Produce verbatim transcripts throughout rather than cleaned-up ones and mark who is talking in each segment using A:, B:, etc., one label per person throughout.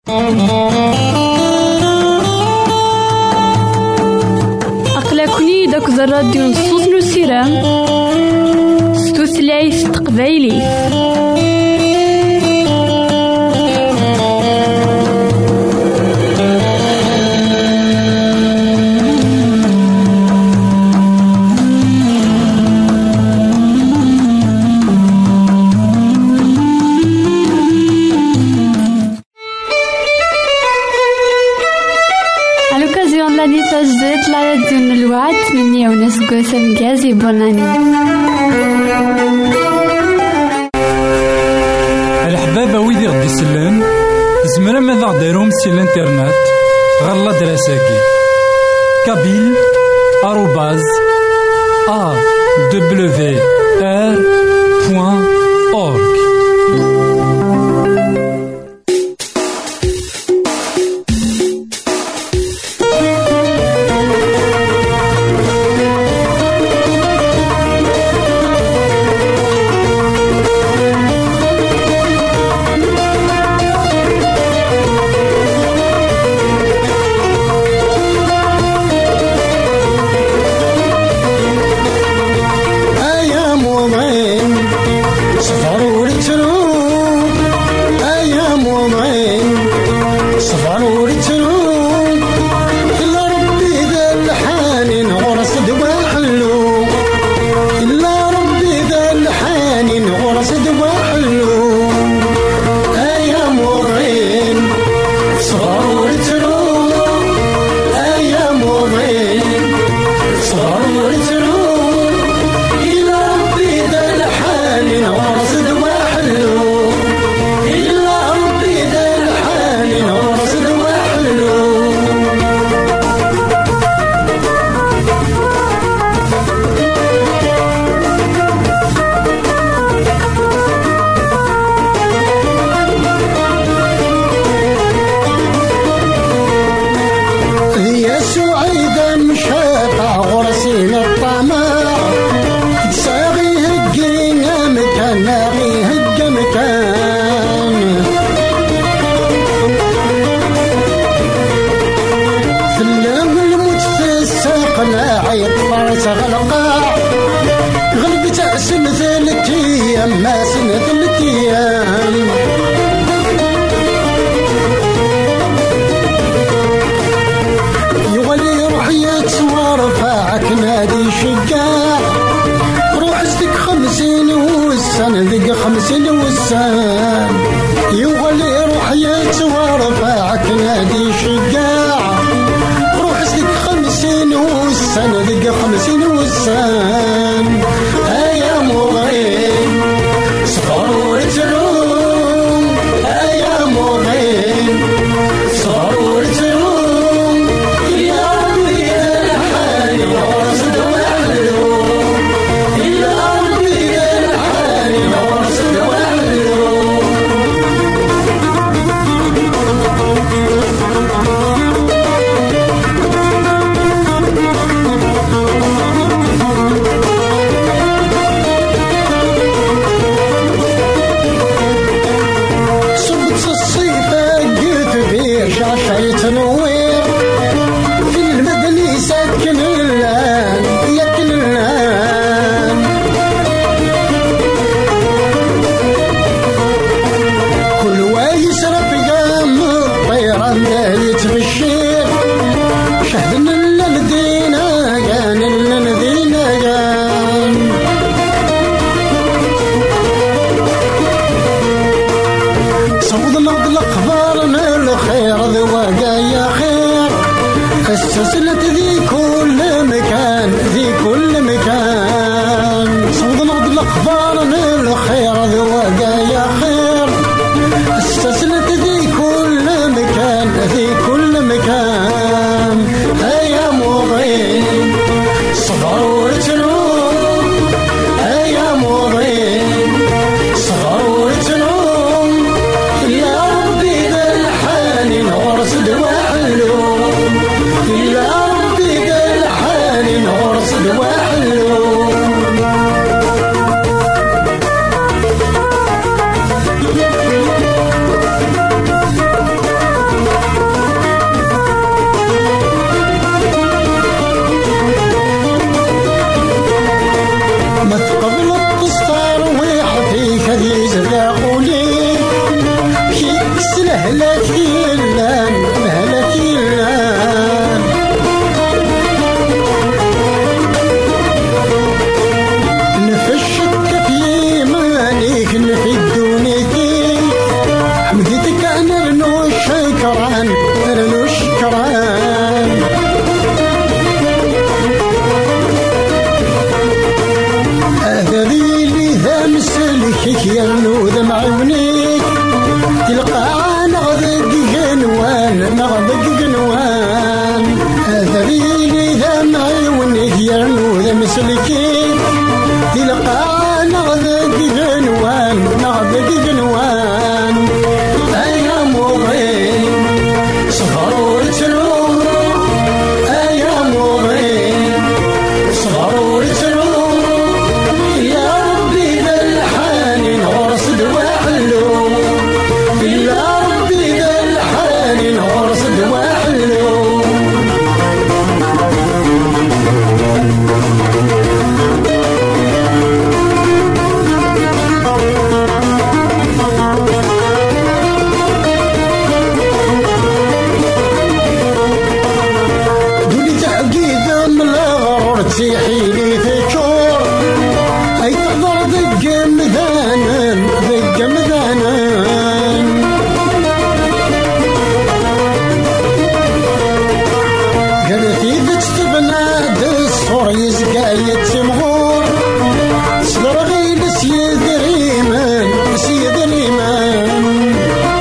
A: أقلكني داك الراديو نصوص نسيرام ستوثلايف تقبايلي.
B: تجديد لا يدين الوعد مني وناس قوسة مجازي بوناني.
C: الحبابة ويدي غدي يسلم زمرا ماذا غديرهم سي الانترنت غالا دراساكي كابيل آروباز أ دبليو آر بوان أورك.
D: يا ربي مهلك يلان مهلك يلان نفشك في مانيك نفي الدونيتي حمدتك أنا رنو الشكران رنو الشكران أذريلي ذا مسلكك يرنو ذا معونيك تلقى نغذق جنوان نغذق جنوان أذريلي ذا معونيك يرنو ذا مسلكك تلقى نغذق جنوان نغذق جنوان أيا مغين صغر وتلوم أيا مغين صغر وتلوم يا ربي ذا الحاني نغرس دواحلو يا ربي ذا الحاني نغرس دواحلو تحيلي تشور أي تقدر ذق مذانا ذق مذانا قالت إذا تستبنى دصور يزقى يتسمغور صدر غير سيد ريمان سيد ريمان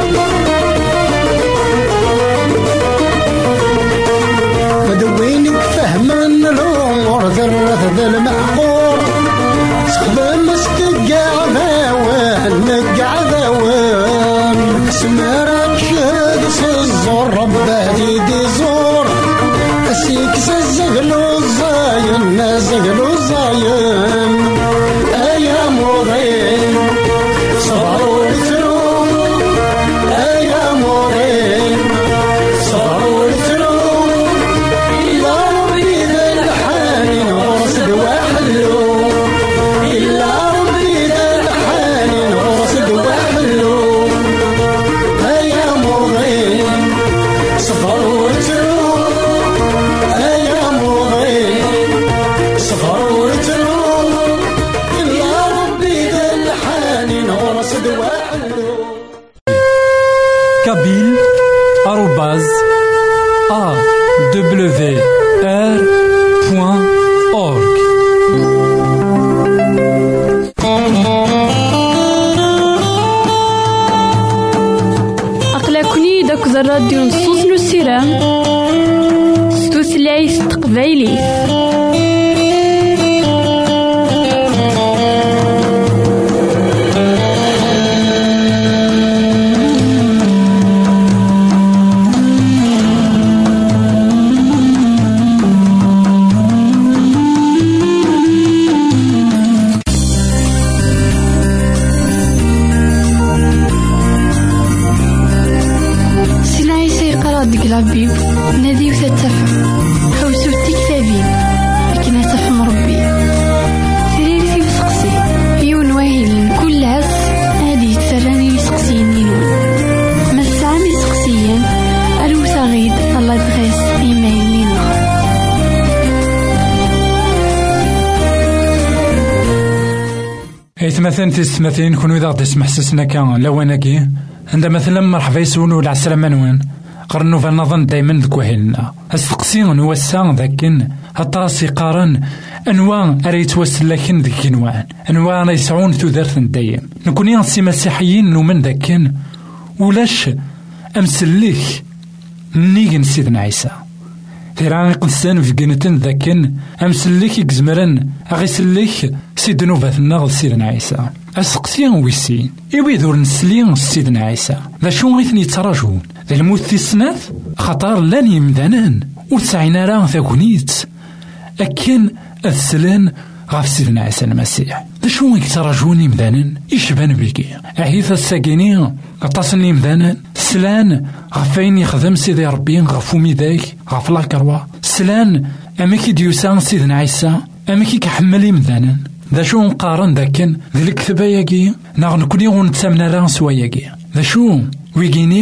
D: مدوينك فهما الأمور ذرة ذا المعقور سخدم استقع ذاوان نقع ذاوان سمارك شهد سزور رباتي دي زور أسيك سزغلو الزاين زغلو الزاين أيا مغين صبروا لتروم أيا مغين صبروا لتروم إلا ربي ذا الحاني نغرس دواحلو إلا ربي ذا الحاني نغرس دواحلو أيا مغين صبروا لتروم أيا مغين صبروا لتروم إلا ربي ذا الحاني نغرس دواحلو
C: Kabyle arobase a w r point org.
A: أقلكني داك الراديو نصوص نسيرام ستوثلايف تقبايلي.
B: ربي نادي وتتفهم حوسو التكتابين لكن تفهم ربي سرير في بسقسي يون واهل كل عس هادي تسراني لسقسيين نينون ما السعامي سقسيين ألو صغيد الله دغيس إيمايل لينا
C: ايت مثلا تستمثين كونو إذا تسمح سسنا كان لواناكي عندما مثلا مرحبا يسولو العسلامة نوان قرنو فنظن دايما ذك وهلنا السقسين وسان ذاكن هطراسي قارن انواع اريت وسلكن ذيك انواع انواع راه يسعون ثلاث دايم نكون ينسي مسيحيين نومن ذاكن ولاش امسليك نيجن سيدنا عيسى تيراني قدسان في قنتن ذاكن امسليك يكزمرن اغيسليك سيدنا فاثنا سيدنا عيسى السقسين ويسين إيوي ذور نسلين سيدنا عيسى ذا شو غيثني يتراجون ذا الموت في السنات خطر لان يمدانان وتسعينا راه ثاكونيت أكن السلان غاف سيدنا عيسى المسيح ذا شو يتراجون يمدانان يشبان بيكي أحيث الساكينين أتصل يمدانان سلان غفين يخدم سيدي ربي غفو ميداك غف لاكروا سلان أماكي ديوسان سيدنا عيسى أماكي كحمل يمدانان ذا شو نقارن ذاكن ذي الكتبة ياكي ناغ نكوني غنتسامنا راه سوا ياكي ذا شو ويكيني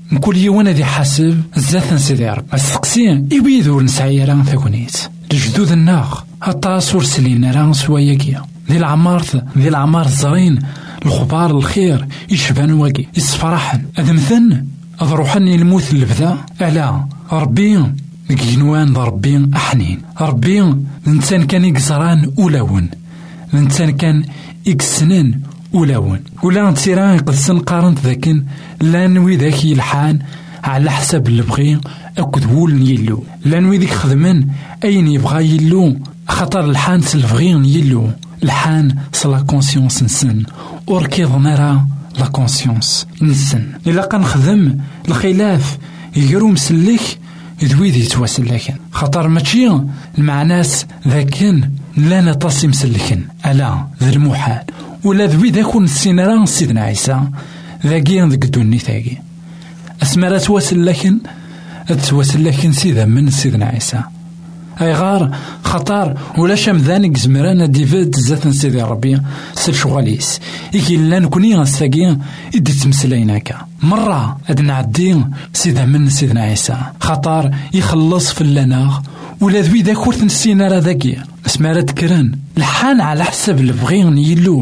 C: كل يوم ذي حاسب زات نسيدي ربي السقسي يبيدو نسعي راه ثاكونيت الجدود الناغ هطاس ورسلين راه سواياكيا ذي العمار ذي العمار الزرين الخبار الخير يشبان واقي يصفرحن هذا مثل أضروحني الموت البدا ألا ربي جنوان ربي أحنين ربي الإنسان كان يقزران أولاون الإنسان كان يكسنن أولاون ولا نتيران يقدسن قارنت ذاكن لا نوي ذاك يلحان على حسب اللي بغي أكد وول يلو لا نوي ذيك خدمن أين يبغى يلو خطر الحان سلفغين يلو الحان سلا كونسيونس نسن وركيض نرى لا كونسيونس نسن إلا كنخدم الخلاف يقرو مسلك يدوي ذي تواسلكن خطر ماشي المعناس ذاكن لا نتصي مسلكن ألا ذي المحال ولا ذوي ذاكون السينارا سيدنا عيسى ذاكي ذاك الدوني ثاقي أسماء تواسلكن تواسلكن سيدا من سيدنا عيسى أي غار خطر ولا شمذانك زمرانا ديفيد زات سيدي ربي سير شغاليس إيكي لا نكوني غنستاقي إدي تمسليناكا مرة أدنا عدي سيدا من سيدنا عيسى خطر يخلص في اللناغ ولا ذوي ذاك ورث السينارا ذاكي اسمها تكرن الحان على حسب اللي بغيون يلو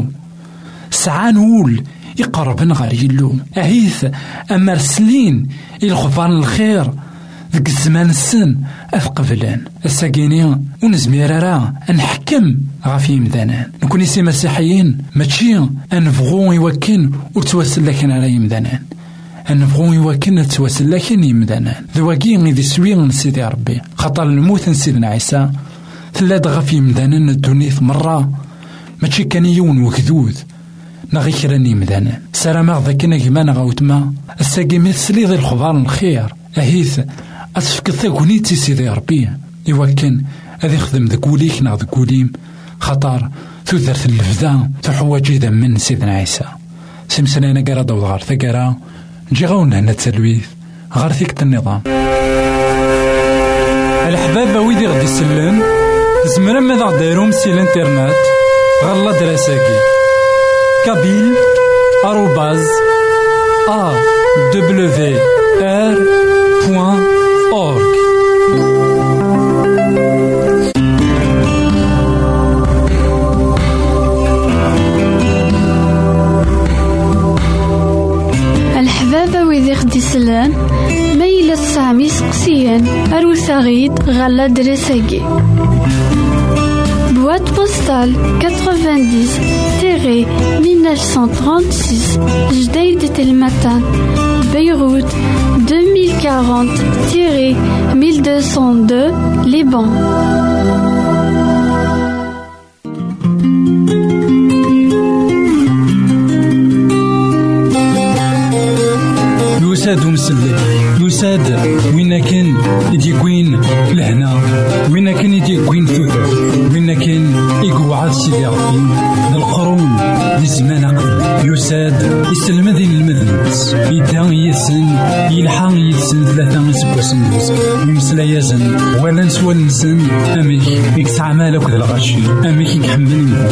C: سعان وول يقربن غير يلو أهيث أما رسلين الغفران الخير ذك الزمان السن أثقبلان الساقيني ونزمير راه نحكم غافي مدانان نكون يسي مسيحيين ماشي أنفغو يوكن وتواسل لكن على يمدانان أنفغو يوكن تواصل لكن يمدانان ذواقي غيدي سوي سيدي ربي خطر الموت سيدنا عيسى ثلاث غافي مدانان الدنيث مرة ماشي كان يون وكذوذ نغي كراني مدانان سلام ذاكنا كما نغاوتما الساقي مثلي ذي الخبار الخير أهيث أتفك ثاكونيتي سيدي ربي يوكن أذي يخدم ذكوليك نا ذكوليم خطر ثوثرت اللفذا تحواجي ذا من سيدنا عيسى سمسنانا قرا داود غار ثقرا نجي غاونا هنا تسلويث غار ثيكت النظام الحباب ويدي غدي سلن زمرا ماذا غديرهم سي الانترنت غالا دراساكي كابيل آروباز أ دبليو آر بوان أورك
B: الحبابة ويدي خدي سلان ميلا السامي سقسيان أروساغيد غالا دراساكي boîte postale quatre-vingt-dix mille neuf cent trente-six Jdeïd Telmatan Beyrouth deux mille quarante mille deux cent deux Liban.
C: يساد ومسلك يساد وين كان يديكوين لهنا وين كان يديكوين ثوثر وين كان يقوعد سيدي ربي القرون لزمان قبل يساد يسلم ذي المذنبس يدان يسن يلحان يسن ثلاثة سبوسن يمسلا يزن ولا نسوى نسن أميك يكسع مالك ذا الغشي أميك يحملني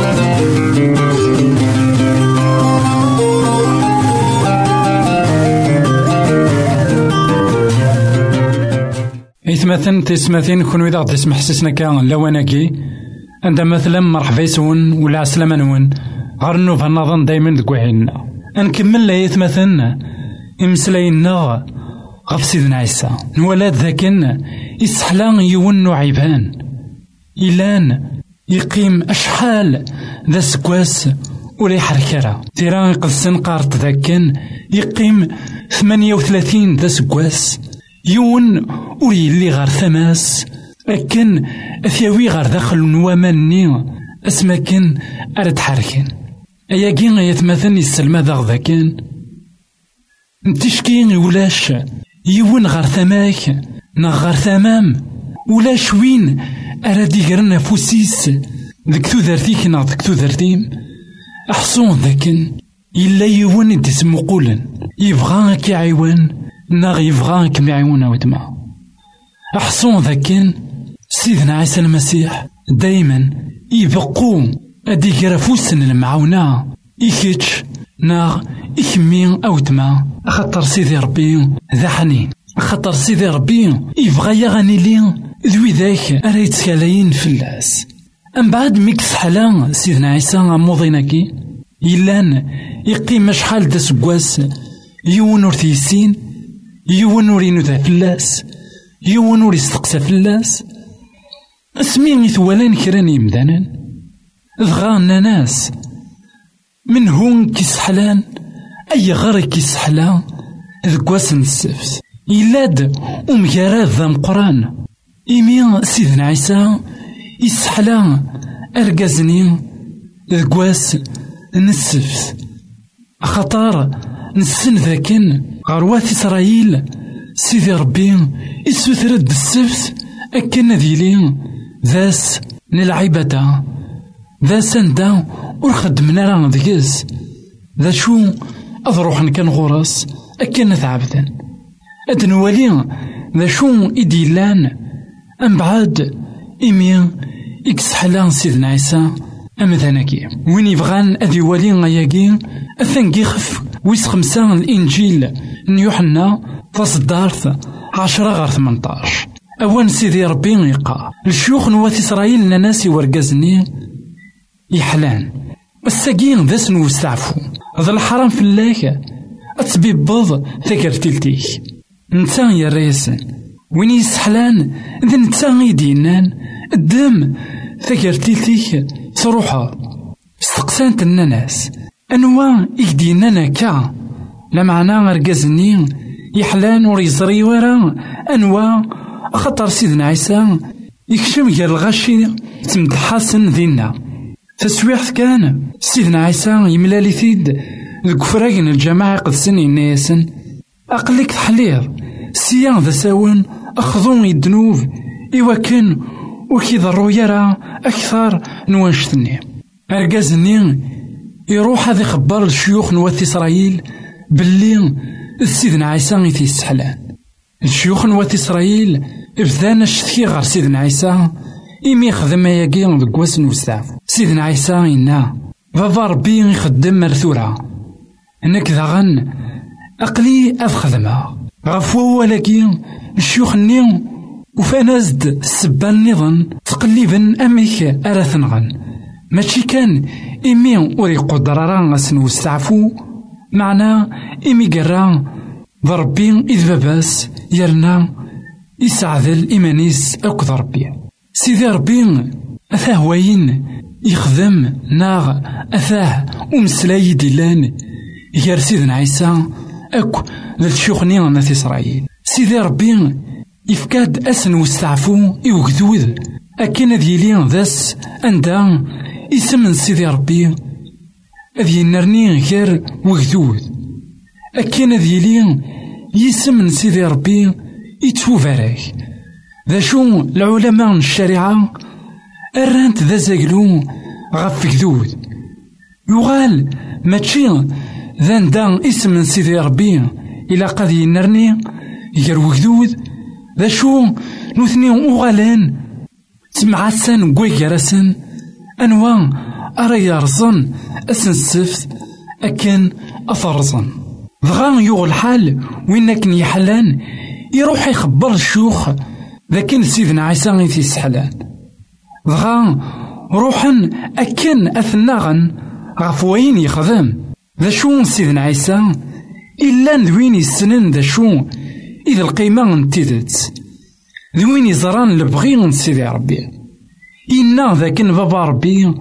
C: إثمثن تسمثين كون إذا تسمح حسسنا كان لواناكي عندما مثلا مرحبا يسون ولا عسلامة نون غرنو فالنظن دايما دكوحينا نكمل لي إثمثن إمسلاينا غف سيدنا عيسى نولاد ذاكن يسحلان يونو عيبان إلان يقيم أشحال ذا سكواس ولا يحركرا تيران يقدسن قارت ذاكن يقيم ثمانية وثلاثين ذا سكواس يون وري اللي غار ثماس لكن أثيوي غار داخل نوامني اسما كان أرد حركين أياكين يتمثلني السلمى ذا غذاكين نتشكين ولاش يون غار ثماك نغار ثمام ولاش وين أرد يقرن فوسيس ذك ثوذرتيك نا ذك ثوذرتيم أحصون ذاكن إلا يون يدسمو قولن يبغاك يعيون ناغ يبغاك معيونا ودماء أحصون ذاكن سيدنا عيسى المسيح دايما يبقو أدي كرافوسن المعاونة إيكيتش ناغ إكمي أو تما خاطر سيدي ربي ذا حنين، خاطر سيدي ربي يبغى يغني لي ذوي ذاك أرا يتكالاين فلاس. أم بعد ميكس حلا سيدنا عيسى موضيناكي يلان يقيم شحال دا سكواس يون ور تيسين، يون ور ينوذا فلاس، يون ور يستقسى فلاس. اسمي ثوالين كران يمدانا ضغانا ناس من هون كيسحلان أي غير كيسحلا ذكواس السفت يلاد ومجارات ذا مقران. إيمي سيدنا عيسى يسحلا أرقازني ذكواس السفت خطار نسن ذاكن غروات إسرائيل سيدي ربي يسوثرد السفت أكن ذيلي ذاس نلعبتا ذا سندا ورخدمنا راه ذكز ذا شو أضروح كان غرس أكن ثعبدا أدنوالي ذا شو إديلان أم بعد إمي إكسحلان سيدنا عيسى أم ذانكي وين يبغان أدي والي غياكي أثنكي خف ويس خمسان الإنجيل نيوحنا تصدارث عشرة غير ثمنطاش. أوان سيدي ربي يقع الشيوخ نوات إسرائيل ناناسي ورقازني يحلان الساقين ذا سنو استعفو هذا الحرام في الله أتبيبض ثكرتلتيك نتا يا ريسن وين يسحلان ذا نتا يدينان الدم ثكرتلتيك تروحا استقسانت الناس أنوا يدينانا كا لا معنى رقازني يحلان وريزري ورا أنوا خطر سيدنا عيسى يكشم غير الغاشي تمدحاسن ذينا تسويحث كان سيدنا عيسى يملالي ثيد الكفراجن الجماعة قدسن الناسن أقلك تحلير سيان ذا ساون أخذون الذنوب إيواكن وكيضروا يرى أكثر نوانشتني أرقازني يروح هذا خبر الشيوخ نوات إسرائيل باللي سيدنا عيسى يثي السحلان. الشيوخ نوات إسرائيل ابتدانا الشتكي غير سيدنا عيسى إمي يخدم ياكي ذكواس نوستعف سيدنا عيسى إنا بابا ربي يخدم مرثورة انك ذاغن أقلي أفخدمها غفو ولكي الشيوخ نيو وفانازد السبان نظن تقليبا أميك أراثنغن ماشي كان إمي وري قدرارا سنوستعفو معنا إمي قرا ضربي إذ باباس يرنا يسعذل إيمانيس أكد ربي سيدي ربي أثاه وين يخدم ناغ أثاه ومسلاي ديلان يار سيدنا عيسى أكو للشيوخ نيغنا في إسرائيل سيدي ربي يفكاد أسن وستعفو يوكدود أكين ديالي ذاس أندا يسمن سيدي ربي أذي نرني غير وكدود أكين ديالي يسمن سيدي ربي يتوفارك ذا شو العلماء الشريعة أرانت ذا زاقلو غف كدود يغال ماشي ذا ندا اسم سيدي ربي إلا قد ينرني يروي كدود ذا شو نوثني أغالان تمعسن قوي جرسن أنواع أرى يرزن أسن السفت أكن أثرزن ضغان يغ الحال وينك يحلان يروح يخبر الشيوخ لكن سيدنا عيسى غيثي السحلان ضغان روحا أكن أثناغن غفوين يخدم ذا شو سيدنا عيسى إلا ذوين السنن ذا شو إذا القيمة انتدت ذوين يزران لبغين سيدي ربي إنا ذاكن بابا ربي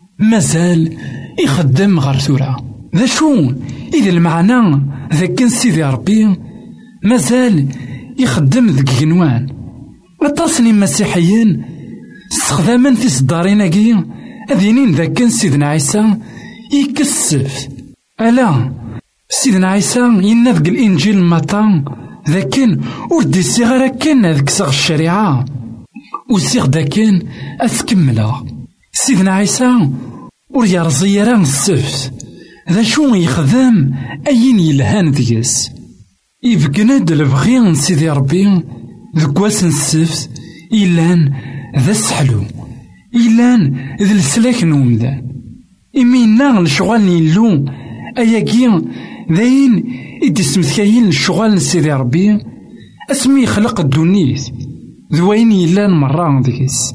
C: مازال يخدم غير ثورة ذا شو إذا المعنى ذاكن سيدي ربي مازال يخدم ذك جنوان أتصني مسيحيين استخداما في صداريناكي أذينين ذاكن سيدنا عيسى يكسف ألا سيدنا عيسى ينذق الإنجيل مطان ذاكن وردي الصغيرة كان ذاك صغ الشريعة وسيغ داكن أتكمله سيدنا عيسى وريرزي راه السفت ذا شو يخدم أين يلهان ديس يبقند البغي سيدي ربي ذكواس السفت إلان ذا السحلو إلان ذا السلاك نومدان إمينا الشغال نيلو أياكي ذاين إدي سمثكاين الشغال سيدي ربي اسمي خلق الدنيس ذوين يلان مرة ديكس،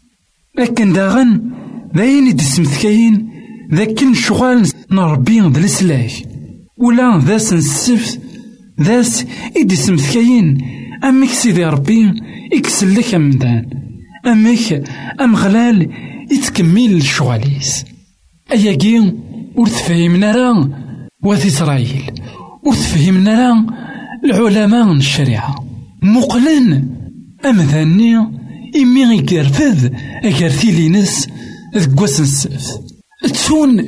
C: لكن داغن ذاين إدي سمثكاين ذاك الشغال نربي ذا السلاك ولا ذاس نسفت ذاس إدي سمثكاين أمك سيدي ربي إكسلك أمدان أمك أم غلال يتكمل الشغاليس. أياكي ورتفهمنا راه وذي إسرائيل ورتفهمنا راه العلماء الشريعة مقلن أمذاني إمي يقرفذ أقرثي لينس ذقوس السفت تسون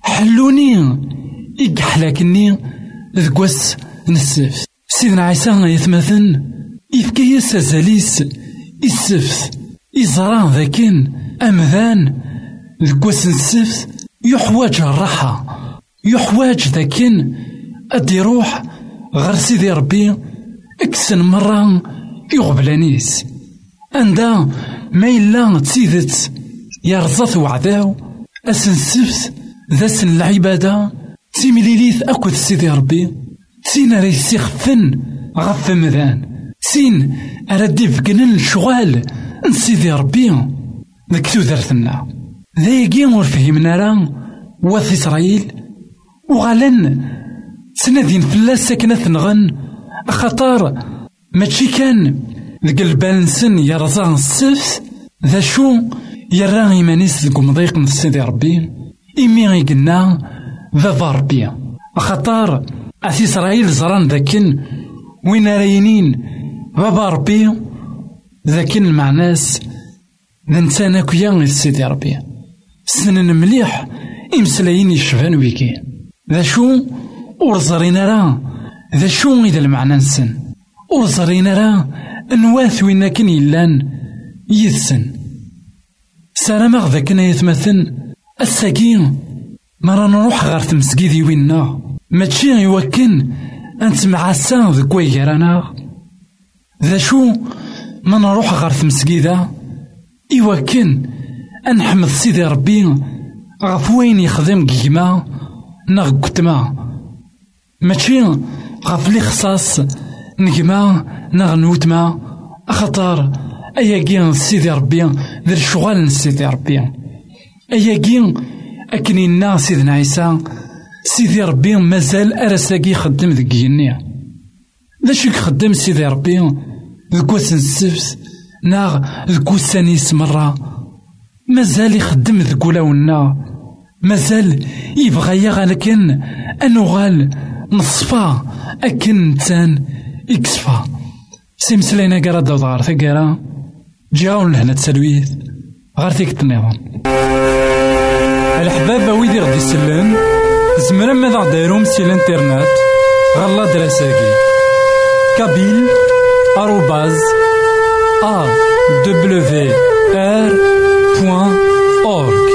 C: حلوني إقحلاكني ذقوس السفت. سيدنا عيسى يتمثل يفكي سازاليس السفت إزران ذاكن أمذان ذقوس السفت يحواج الراحة يحواج ذاكن أدي روح غير سيدي ربي اكسن مرة يغبلانيس عندها ما إلا تسيدت يرزط وعداو أسن سفت ذا سن العبادة تيمليليث أكد سيدي ربي سين ريسي خفن غف مذان سين أردي فقنن الشغال نسيدي ربي ذاك تودرتنا ذايقي ورفهمنا راه وث إسرائيل وغالن سنادين فلاس ساكنة نغن أخطار ماشي كان ذاك البالنسن يرزان السفت ذا شو يرى إيمانيس ذاك مضيق من سيدي ربي إمي غيقلنا ذا ضربي أخطار أثي إسرائيل زران ذاكن وين راينين بابا ربي ذاكن معناس ذا نسانا كيا سيدي ربي سنن مليح إمسلايين يشفان ويكي ذا شو ورزرينا راه ذا شو إذا المعنى نسن ورزرينا راه نواث وين كان يلان يثسن سلام غذا كنا يتمثل الساقين مرة نروح غير تمسكيدي وينا ماشي يوكن أنت مع السان ذا كوي رانا ذا شو ما نروح غير تمسكيدا يوكن أنحمد سيدي ربي غفوين يخدم كيما نغ كتما ماشي غف لي خصاص نجما نغ نوتما أخطار أياكين سيدي ربي ذا الشغال سيدي ربي أياكين أكنينا سيدنا عيسى سيدي ربي مازال أرساكي خدم ذك جنيا ذاش يخدم سيدي ربي ذكوس السفت ناغ ذكوس سانيس مرة مازال يخدم ذكولاونا مازال يبغى يغال لكن أنوغال نصفا أكن تان إكسفا سيمسلينا قرا داود غار ثقرا جاون لهنا تسلويث غار ثيك النظام الحباب ويدي غدي يسلم زمرا ماذا دايروم سي الانترنت غالا دراساكي كابيل آروباز أ دبليو آر بوان أورك.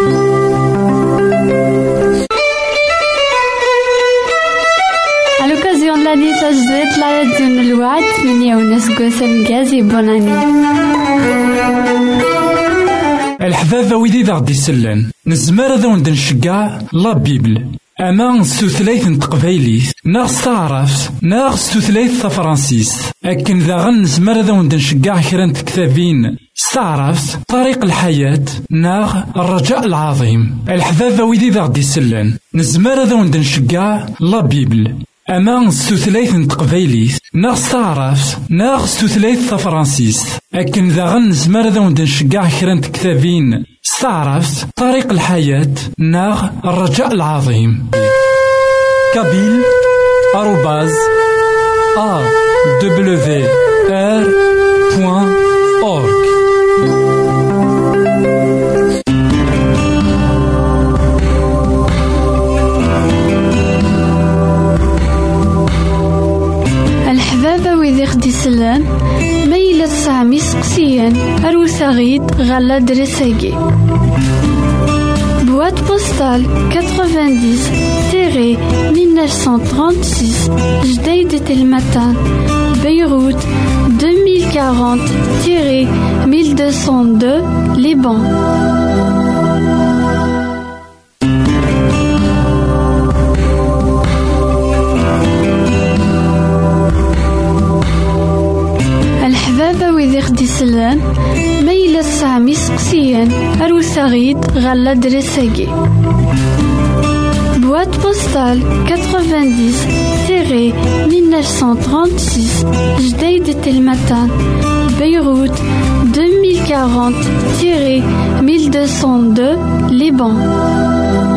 B: À l'occasion de l'année Sajdet, la radio de l'Ouad, ثمانية ونص قوسم جازي بوناني.
C: الحبابة ويدي ذا غدي يسلن نزمار ذا وند نشقع لا بيبل أما ستوثلايث نتقبايليث ناغ ستعرف ناغ ستوثلايث تفرانسيس أكن ذا غن نزمار ذا وند نشقع كران كتابين استعرفت طريق الحياة ناغ الرجاء العظيم. الحبابة ويدي ذا غدي يسلن نزمار ذا وند نشقع لا بيبل أما ستوثلايث نتقبايليث ناغ ستعرفت ناغ ستوثلايث تفرانسيس أكن ذا غن نزمار ذا وند نشقع كران كتابين استعرفت طريق الحياة ناغ الرجاء العظيم. كابيل آروباز أ دبليو آر بوان أورك.
B: الحبابة ويدي خدي سلان ميلة سامي سقسيان أروساغيد غالا درساكي boîte postale quatre-vingt-dix mille neuf cent trente-six Jdeïd Telmatan Beyrouth deux mille quarante mille deux cent deux Liban. يمسلان ميلا سامي سقسيان أروساغيد غالا دريساكي. Boîte postale quatre-vingt-dix mille neuf cent trente-six Jdeïd Telmatan, Beyrouth deux mille quarante mille deux cent deux Liban.